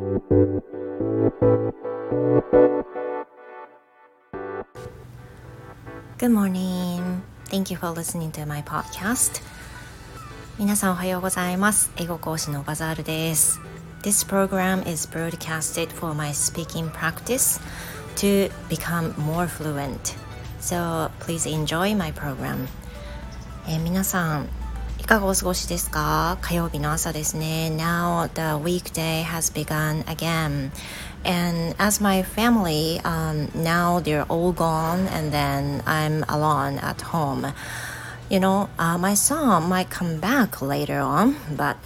Good morning. Thank you for listening to my podcast. 皆さんおはようございます。英語講師のバザールです。This program is broadcasted for my speaking practice to become more fluent. So please enjoy my program. 皆さんいかがお過ごしですか？火曜日の朝ですね。Now the weekday has begun again.And as my family, now they're all gone and then I'm alone at home. My son might come back later on, but,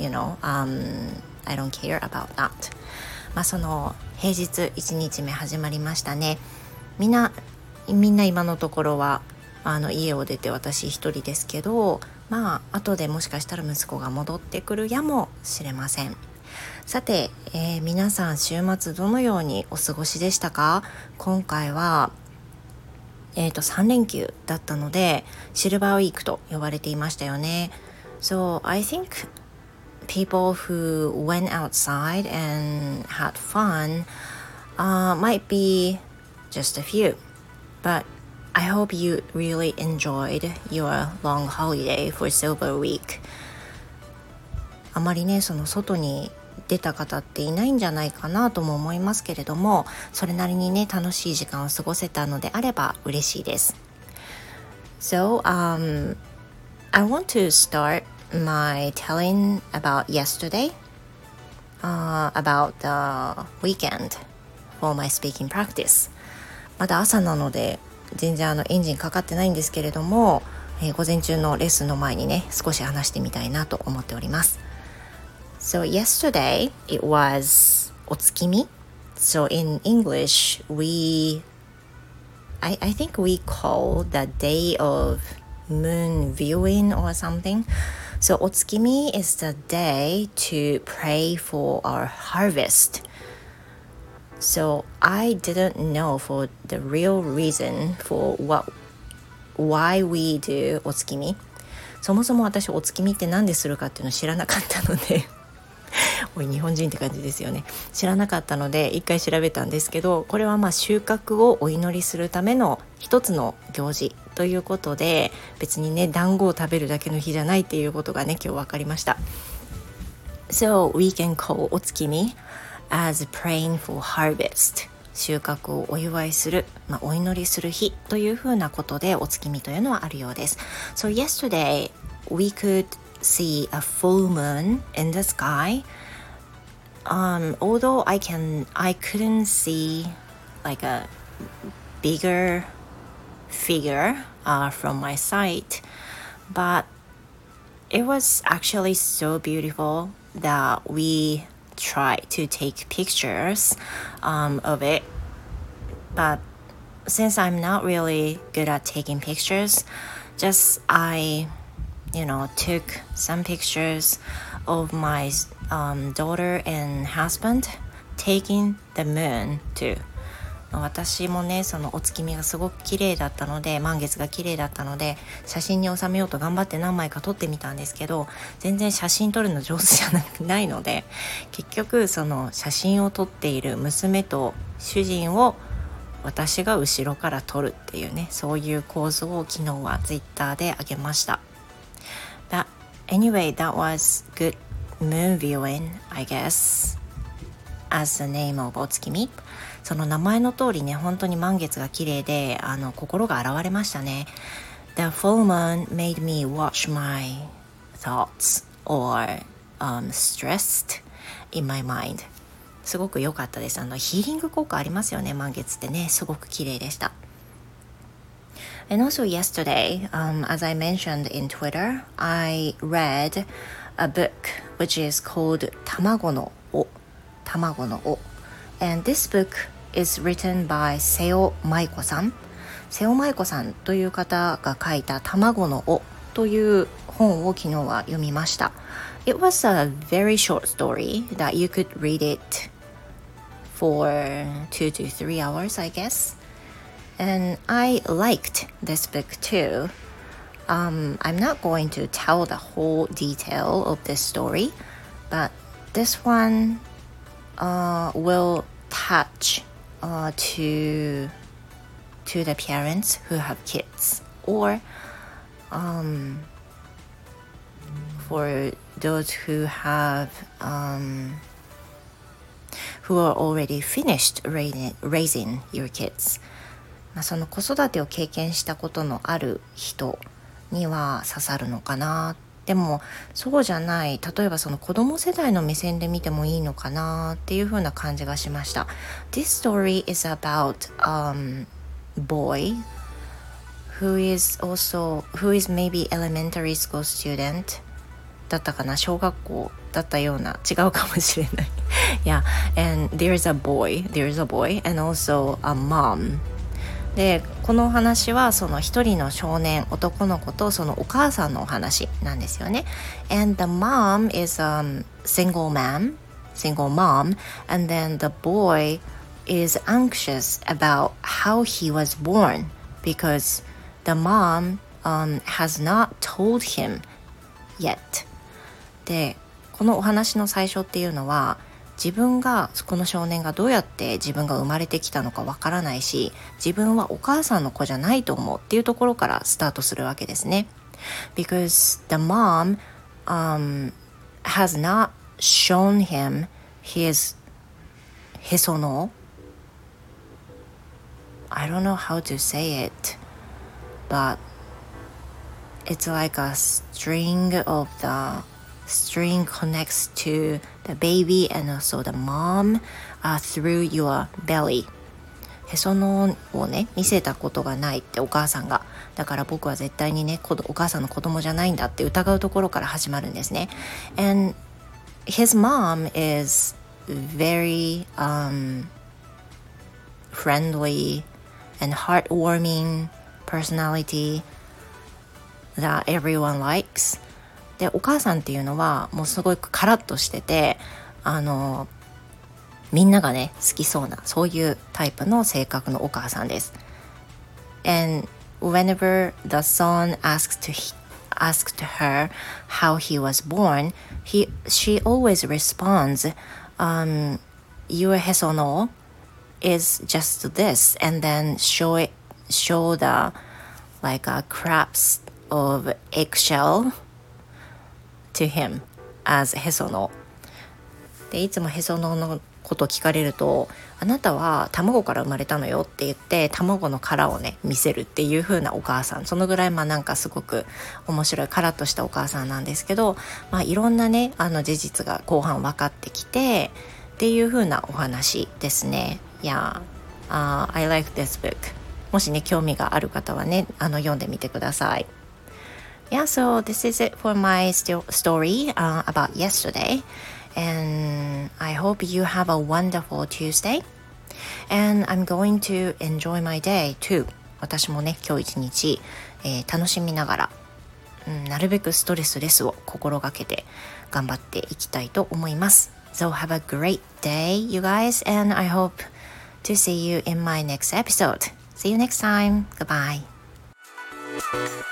I don't care about that. その平日1日目始まりましたね。みんな今のところは家を出て私一人ですけど、後でもしかしたら息子が戻ってくるやもしれません。さて、皆さん週末どのようにお過ごしでしたか？今回は、3連休だったのでシルバーウィークと呼ばれていましたよね。So I think people who went outside and had fun might be just a few, but I hope you really enjoyed your long holiday for Silver Week. あまりね、その外に出た方っていないんじゃないかなとも思いますけれども、それなりにね楽しい時間を過ごせたのであれば嬉しいです。So, I want to start my telling about yesterday, about the weekend for my speaking practice. まだ朝なので全然エンジンかかってないんですけれども、午前中のレッスンの前にね少し話してみたいなと思っております。So yesterday it was お月見. So in English I think we call the day of moon viewing or something. So お月見 is the day to pray for our harvest. So I didn't know for the real reason for why we do お月見. そもそも私お月見って何でするかっていうのを知らなかったのでおい日本人って感じですよね。知らなかったので一回調べたんですけど、これは収穫をお祈りするための一つの行事ということで、別にね団子を食べるだけの日じゃないっていうことがね今日分かりました。 So we can call お月見 as praying for harvest. 収穫をお祝いする、お祈りする日というふうなことでお月見というのはあるようです。 So yesterday we could see a full moon in the sky. Although I couldn't see like a bigger figure from my sight, but it was actually so beautiful that we tried to take pictures of it. But since I'm not really good at taking pictures, just I took some pictures of my daughter and husband taking the moon too. 私もねそのお月見がすごく綺麗だったので、満月が綺麗だったので写真に収めようと頑張って何枚か撮ってみたんですけど、全然写真撮るの上手じゃないので、結局その写真を撮っている娘と主人を私が後ろから撮るっていうね、そういう構図を昨日はツイッターで上げました。But anyway, that was good moon viewing, I guess, as the name of お月見. その名前の通りね、本当に満月が綺麗で心が洗われましたね。 The full moon made me watch my thoughts or stressed in my mind. すごく良かったです。ヒーリング効果ありますよね、満月ってね。すごく綺麗でした。And also yesterday, as I mentioned in Twitter, I read a book which is called 卵の尾. And this book is written by 瀬尾舞子さん。瀬尾舞子さんという方が書いた卵の尾という本を昨日は読みました。It was a very short story that you could read it for 2 to 3 hours, I guess.And I liked this book too. I'm not going to tell the whole detail of this story, but this one will attach to the parents who have kids, or for those who are already finished raising your kids。その子育てを経験したことのある人には刺さるのかな。でもそうじゃない、例えばその子供世代の目線で見てもいいのかなっていう風な感じがしました。 This story is about boy who is maybe elementary school student だったかな、小学校だったような、違うかもしれないyeah, and there's a boy and also a mom。でこのお話はその一人の少年男の子とそのお母さんのお話なんですよね。 And the mom is single mom, and then the boy is anxious about how he was born because the mom has not told him yet。 でこのお話の最初っていうのは、この少年がどうやって自分が生まれてきたのかわからないし、自分はお母さんの子じゃないと思うっていうところからスタートするわけですね。 Because the mom has not shown him his へその I don't know how to say it, but it's like a string connects to the baby and also the mom through your belly。 へその緒をね見せたことがないってお母さんが、だから僕は絶対にねお母さんの子供じゃないんだって疑うところから始まるんですね。 And his mom is very friendly and heartwarming personality that everyone likes。でお母さんっていうのはもうすごくカラッとしてて、みんながね好きそうなそういうタイプの性格のお母さんです。 And whenever the son asked her how he was born, she always responds, your へその is just this, and then show the like a crabs of eggshell to him as へそので、いつもへそののこと聞かれると、あなたは卵から生まれたのよって言って卵の殻をね見せるっていう風なお母さん、そのぐらいなんかすごく面白いカラッとしたお母さんなんですけど、いろんなね事実が後半分かってきてっていう風なお話ですね。Yeah, I like this book。 もしね興味がある方はね読んでみてください。Yeah, so this is it for my story about yesterday, and I hope you have a wonderful Tuesday, and I'm going to enjoy my day too。 私もね今日一日、楽しみながら、なるべくストレスレスを心がけて頑張っていきたいと思います。 So have a great day, you guys, and I hope to see you in my next episode. See you next time. Goodbye.